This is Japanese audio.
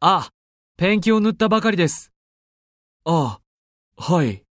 あ、ペンキを塗ったばかりです。 ああ、はい。